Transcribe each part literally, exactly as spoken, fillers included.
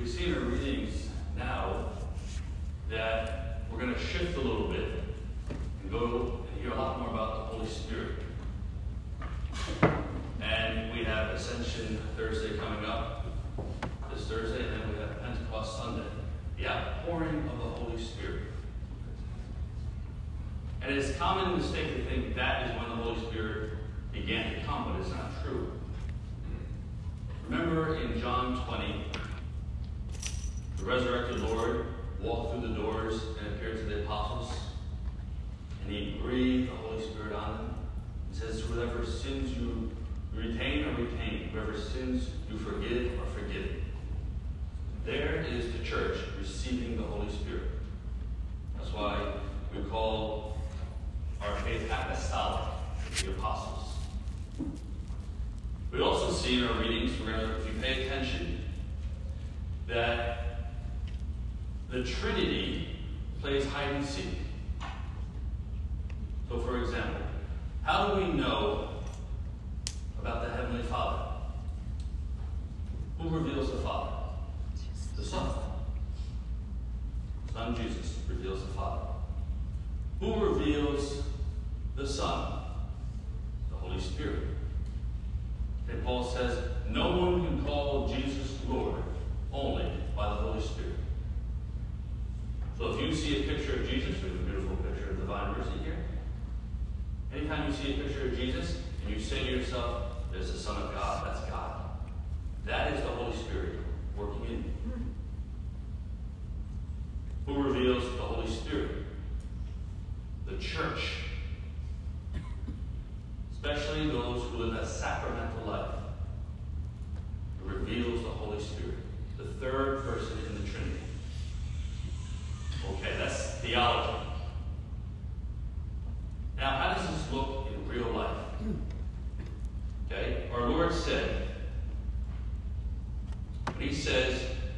we see in our readings now that we're going to shift a little bit and go and hear a lot more about the Holy Spirit. And we have Ascension Thursday coming up this Thursday, and then we have Pentecost Sunday, the outpouring of the Holy Spirit. And it is common mistake to think that is when the Holy Spirit began to come, but it's not true. Remember in John twenty, the resurrected Lord walked through the doors and appeared to the apostles, and he breathed the Holy Spirit on them. He says, whoever sins you retain or retain, whoever sins you forgive or forgive. There is the church receiving the Holy Spirit. That's why we call our faith apostolic, the apostles. We also see in our readings, we're going to, if you pay attention, that the Trinity plays hide and seek. So, for example, how do we know about the Heavenly Father? Who reveals the Father? The Son. Son Jesus reveals the Father. Who reveals the Son? The Holy Spirit. And Paul says, no one can call Jesus Lord only by the Holy Spirit. So if you see a picture of Jesus, we have a beautiful picture of divine mercy here. Anytime you see a picture of Jesus and you say to yourself, there's the Son of God, that's God. That is the Holy Spirit working in you. Who reveals the Holy Spirit? The church. Especially those who live a sacramental life. It reveals the Holy Spirit, the third person in the Trinity. Okay, that's theology. Now, how does this look in real life? Okay, our Lord said, when he says,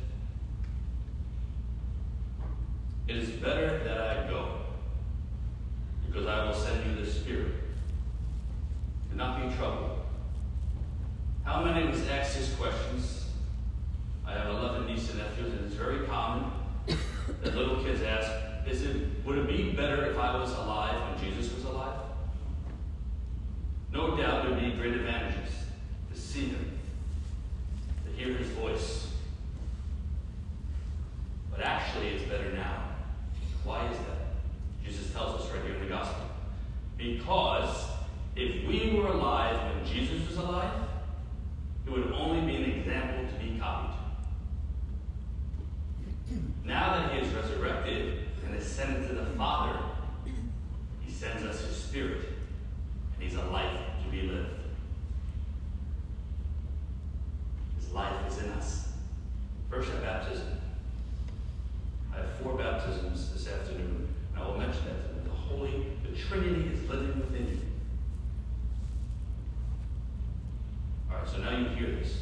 it is better that I go, because I will send you the Spirit. Do not be troubled. How many of us ask these questions? I have eleven nieces and nephews, and it's very common that little kids ask, Is it, would it be better if I was alive when Jesus was alive? No doubt there would be great advantages to see him, to hear his voice. But actually, it's better now. Why is that? Jesus tells us right here in the Gospel. Because if we were alive when Jesus was alive, it would only be an example to be copied. Now that he is resurrected and ascended to the Father, he sends us his Spirit, and he's a life to be lived. His life is in us. First, at baptism. I have four baptisms this afternoon, and I will mention that the Holy, the Trinity is living within you. All right, so now you hear this.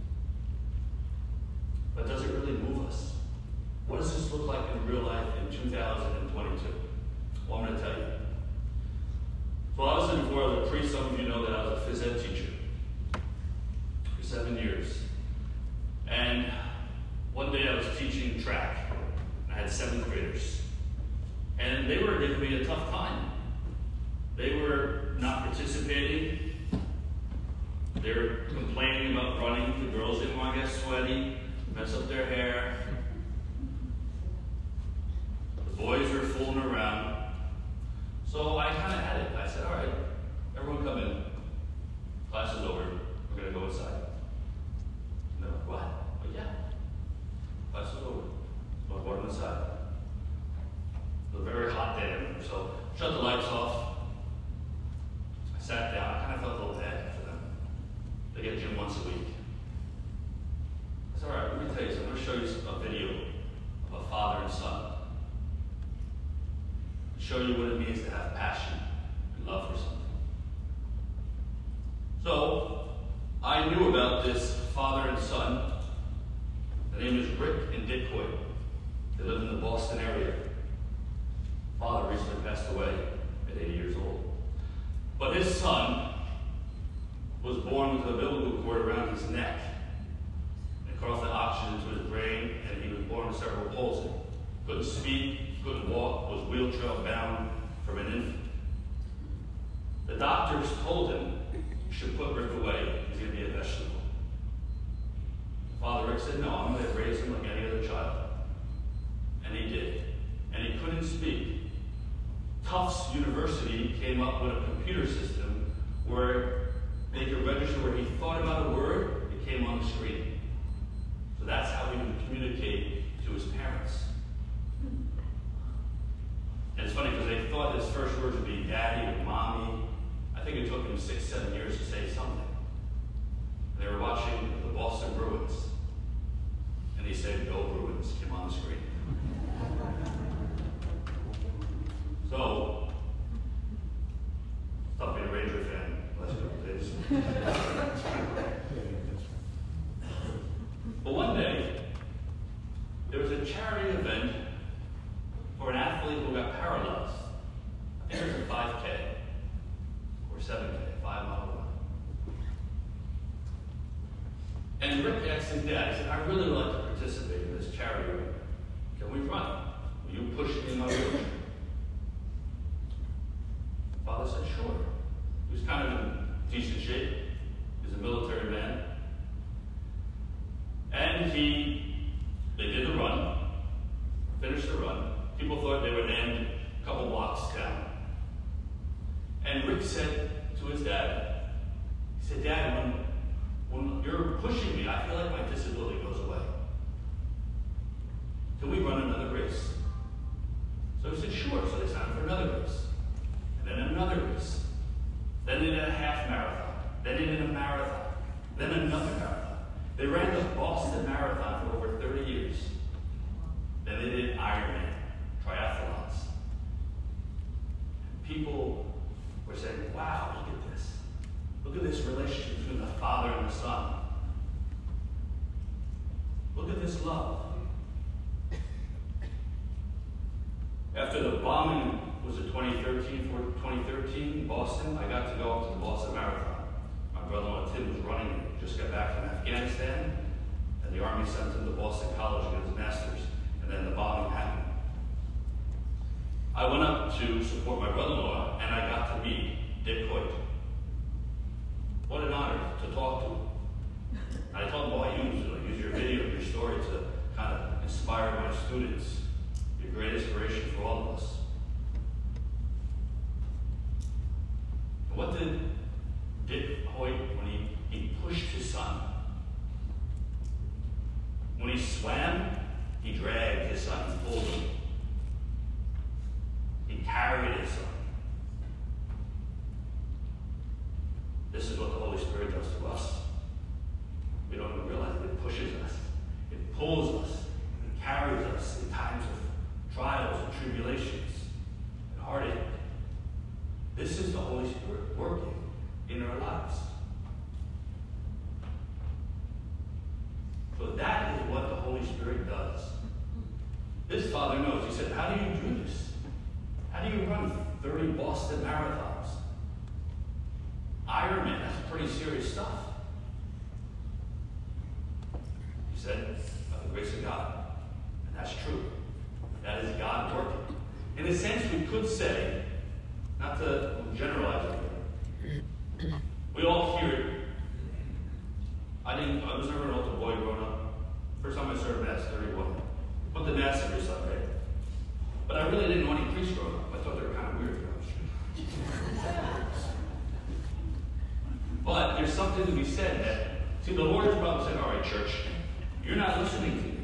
But does it really move us? What does this look like in real life in two thousand twenty-two? Well, I'm going to tell you. So obviously before I was a priest, some of you know that I was a phys ed teacher for seven years. And one day I was teaching track. I had seventh graders. And they were giving me a tough time. They were not participating. They were complaining about running. The girls didn't want to get sweaty, mess up their hair. The boys were fooling around. So I kind of had it. I said, all right, everyone come in. Class is over. We're going to go inside. And they're like, what? Oh, yeah. Class is over. So I brought them inside. It was a very hot day. So shut the lights off. I sat down. I kind of felt a little bad for them. They get gym once a week. I said, all right, let me tell you something. I'm going to show you a video of a father and son. Show you what it means to have passion and love for something. So, I knew about this father and son. The name is Rick and Dick Hoyt. They live in the Boston area. Father recently passed away at eighty years old. But his son was born with a umbilical cord around his neck. It caused the oxygen to his brain palsy. Couldn't speak, couldn't walk, was wheelchair bound from an infant. The doctors told him, you should put Rick away, he's going to be a vegetable. Father Rick said, no, I'm going to raise him like any other child. And he did. And he couldn't speak. Tufts University came up with a computer system where they could register where he thought about a word, it came on the screen. So that's how he would communicate to his parents. And it's funny because they thought his first words would be daddy or mommy. I think it took him six, seven years to say something. And they were watching the Boston Bruins. And he said, go Bruins, came on the screen. So, stop being a Ranger fan the last couple of days. But one day, there was a charity event for an athlete who got paralyzed. I think it was a five K or seven K, five mile run. And Rick asked his dad, he said, I really would like to participate in this charity event. Can we run? Will you push me in my wheelchair? Father said, sure. He was kind of in decent shape. He was a military man. And he, they did the run, finished the run. People thought they would end a couple blocks down. And Rick said to his dad, he said, Dad, when, when you're pushing me, I feel like my disability goes away. Can we run another race? So he said, sure. So they signed for another race. And then another race. Then they did a half marathon. Then they did a marathon. Then another marathon. They ran the Boston Marathon for over thirty years. Then they did Ironman, triathlons. And people were saying, wow, look at this. Look at this relationship between the Father and the Son. Look at this love. After the bombing, was it twenty thirteen, twenty thirteen, Boston, I got to go up to the Boston Marathon. My brother-in-law Tim was running it. Just got back from Afghanistan, and the Army sent him to Boston College to get his master's, and then the bombing happened. I went up to support my brother-in-law, and I got to meet Dick Hoyt. What an honor to talk to him. And I told him, well, I use, I use your video, your story to kind of inspire my students. You're a great inspiration for all of us. What did Dick Hoyt, when he, he pushed his son? When he swam, he dragged his son and pulled him. He carried his son. This is what the Holy Spirit does to us. We don't even realize it. It pushes us. It pulls us. It carries us in times of trials and tribulations and heartache. This is the Holy Spirit working in our lives. So that is what the Holy Spirit does. This Father knows. He said, how do you do this? How do you run thirty Boston marathons? Ironman, that's pretty serious stuff. He said, by the grace of God. And that's true. That is God working. In a sense, we could say, not to generalize it, we all hear it. I didn't, I was never an altar boy growing up. First time I served Mass, thirty-one. Put the Mass every Sunday. But I really didn't know any priests growing up. I thought they were kind of weird. But there's something to be said that, see, the Lord is probably saying, all right, church, you're not listening to me.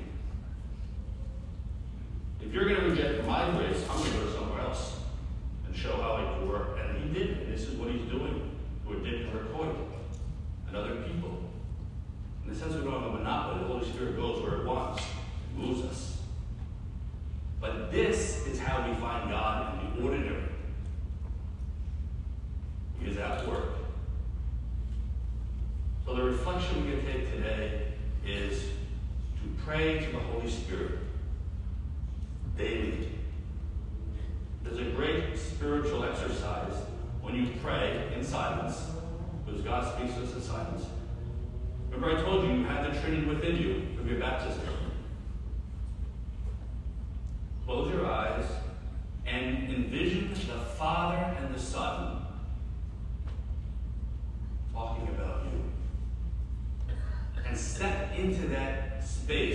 If you're going to reject my grace, I'm going to go somewhere else and show how I can work. And he did. And this is what he's doing with Dick Hoyt and other people. In the sense we don't have a monopoly, the Holy Spirit goes where it wants, it moves us. But this is how we find God in the ordinary. He is at work. So the reflection we can take today is to pray to the Holy Spirit daily. There's a great spiritual exercise when you pray in silence, because God speaks to us in silence. Remember I told you you have the Trinity within you from your baptism.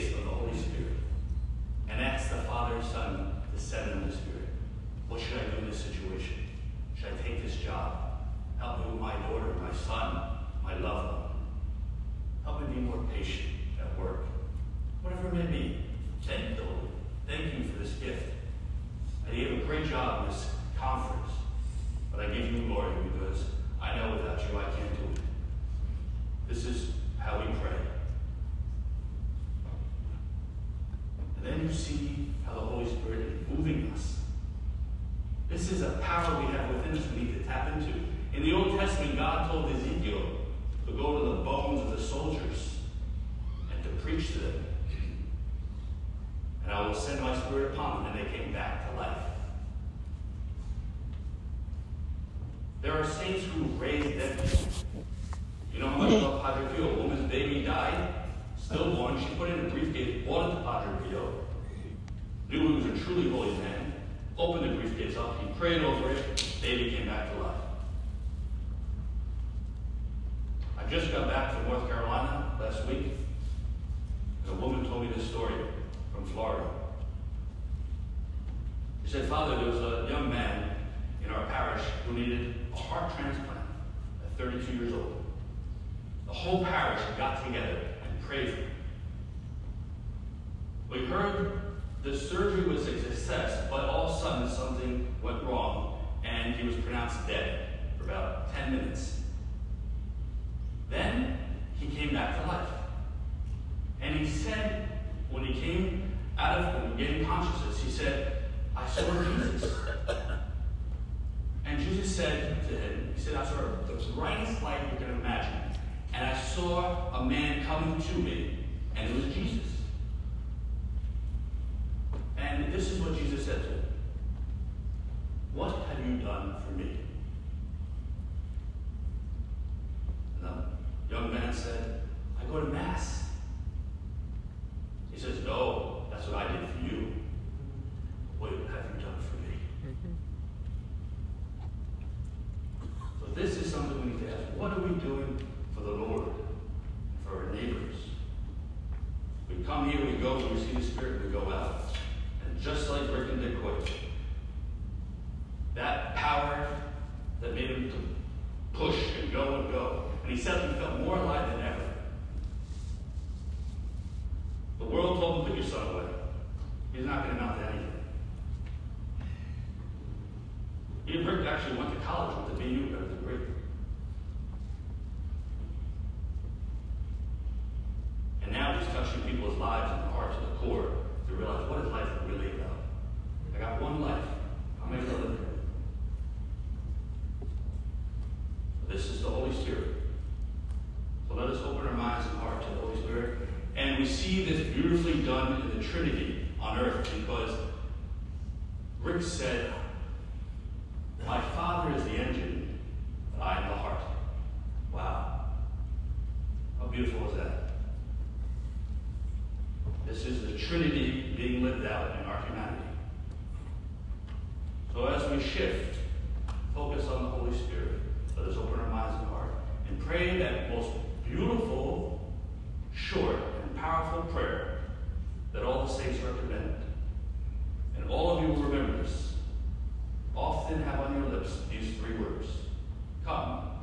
face of the Holy Spirit and ask the Father, Son, to send them the Spirit. What should I do in this situation? Should I take this job? Help me with my daughter, my son, my loved one. Help me be more patient at work. Whatever it may be, thank you, Lord. Thank you for this gift. I did a great job in this conference, but I give you glory because I know without you I can't do it. This is how we pray. And then you see how the Holy Spirit is moving us. This is a power we have within us we need to tap into. In the Old Testament, God told Ezekiel to go to the bones of the soldiers and to preach to them. And I will send my Spirit upon them, and they came back to life. There are saints who raise dead people. You know how much about Padre Pio? A woman's baby died, stillborn. She put it in a briefcase, brought it to Padre Pio, knew he was a truly holy man, opened the briefcase up, he prayed over it, baby came back to life. I just got back from North Carolina last week, and a woman told me this story from Florida. She said, Father, there was a young man in our parish who needed a heart transplant at thirty-two years old. The whole parish got together and prayed for him. We heard the surgery was a success, but all of a sudden something went wrong, and he was pronounced dead for about ten minutes. Then he came back to life. And he said, when he came out of, when he gained consciousness, he said, I saw Jesus. And Jesus said to him, he said, I saw the brightest light you can imagine. And I saw a man coming to me, and it was Jesus. And this is what Jesus said to him. What have you done for me? And the young man said, I go to Mass. He says, no, that's what I did for you. What have you done for me? Mm-hmm. So this is something we need to ask. What are we doing for the Lord, for our neighbors? We come here, we go, we receive the Spirit, we go out. And just like Rick did quick, that power that made him to push and go and go. And he said he felt more alive than ever. The world told him, put your son away. He's not going to amount to anything. He and Rick actually went to college with the B U, got a degree. And now he's touching people's lives and hearts to the core to realize what is life really about. I got one life. How am I going to live it? This is the Holy Spirit. So let us open our minds and hearts to the Holy Spirit. And we see this beautifully done in the Trinity on earth because Rick said, my Father is the engine, but I am the heart. Wow. How beautiful is that? This is the Trinity being lived out in our humanity. So as we shift, focus on the Holy Spirit. Let us open our minds and heart and pray that most beautiful, short, and powerful prayer that all the saints recommend. And all of you will remember this. Often have on your lips these three words. Come.